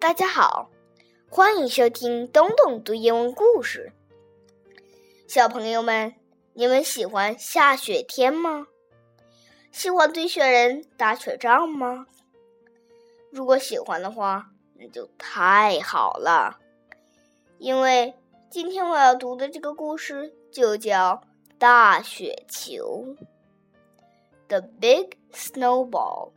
大家好，欢迎收听东东读英文故事。小朋友们，你们喜欢下雪天吗？喜欢堆雪人打雪仗吗？如果喜欢的话，那就太好了，因为今天我要读的这个故事就叫大雪球。The Big Snowball.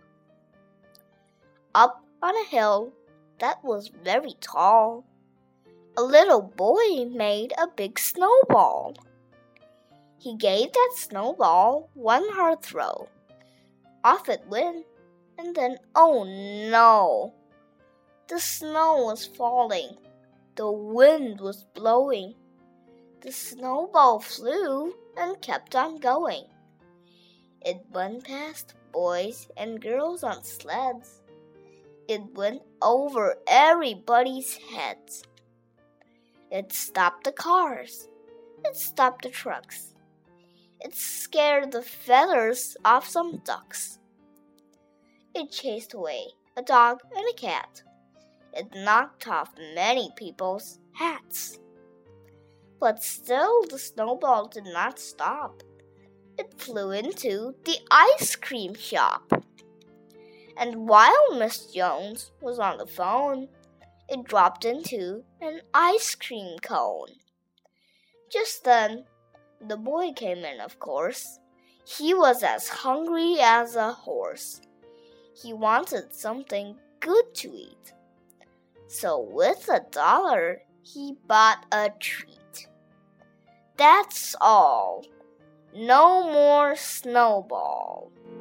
Up on a hill that was very tall, a little boy made a big snowball. He gave that snowball one hard throw. Off it went, and then, oh no! The snow was falling. The wind was blowing. The snowball flew and kept on going. It went past boys and girls on sleds. It went over everybody's heads. It stopped the cars. It stopped the trucks. It scared the feathers off some ducks. It chased away a dog and a cat. It knocked off many people's hats. But still the snowball did not stop. It flew into the ice cream shop. And while Miss Jones was on the phone, it dropped into an ice cream cone. Just then, the boy came in, of course. He was as hungry as a horse. He wanted something good to eat. So with $1, he bought a treat. That's all. No more snowball.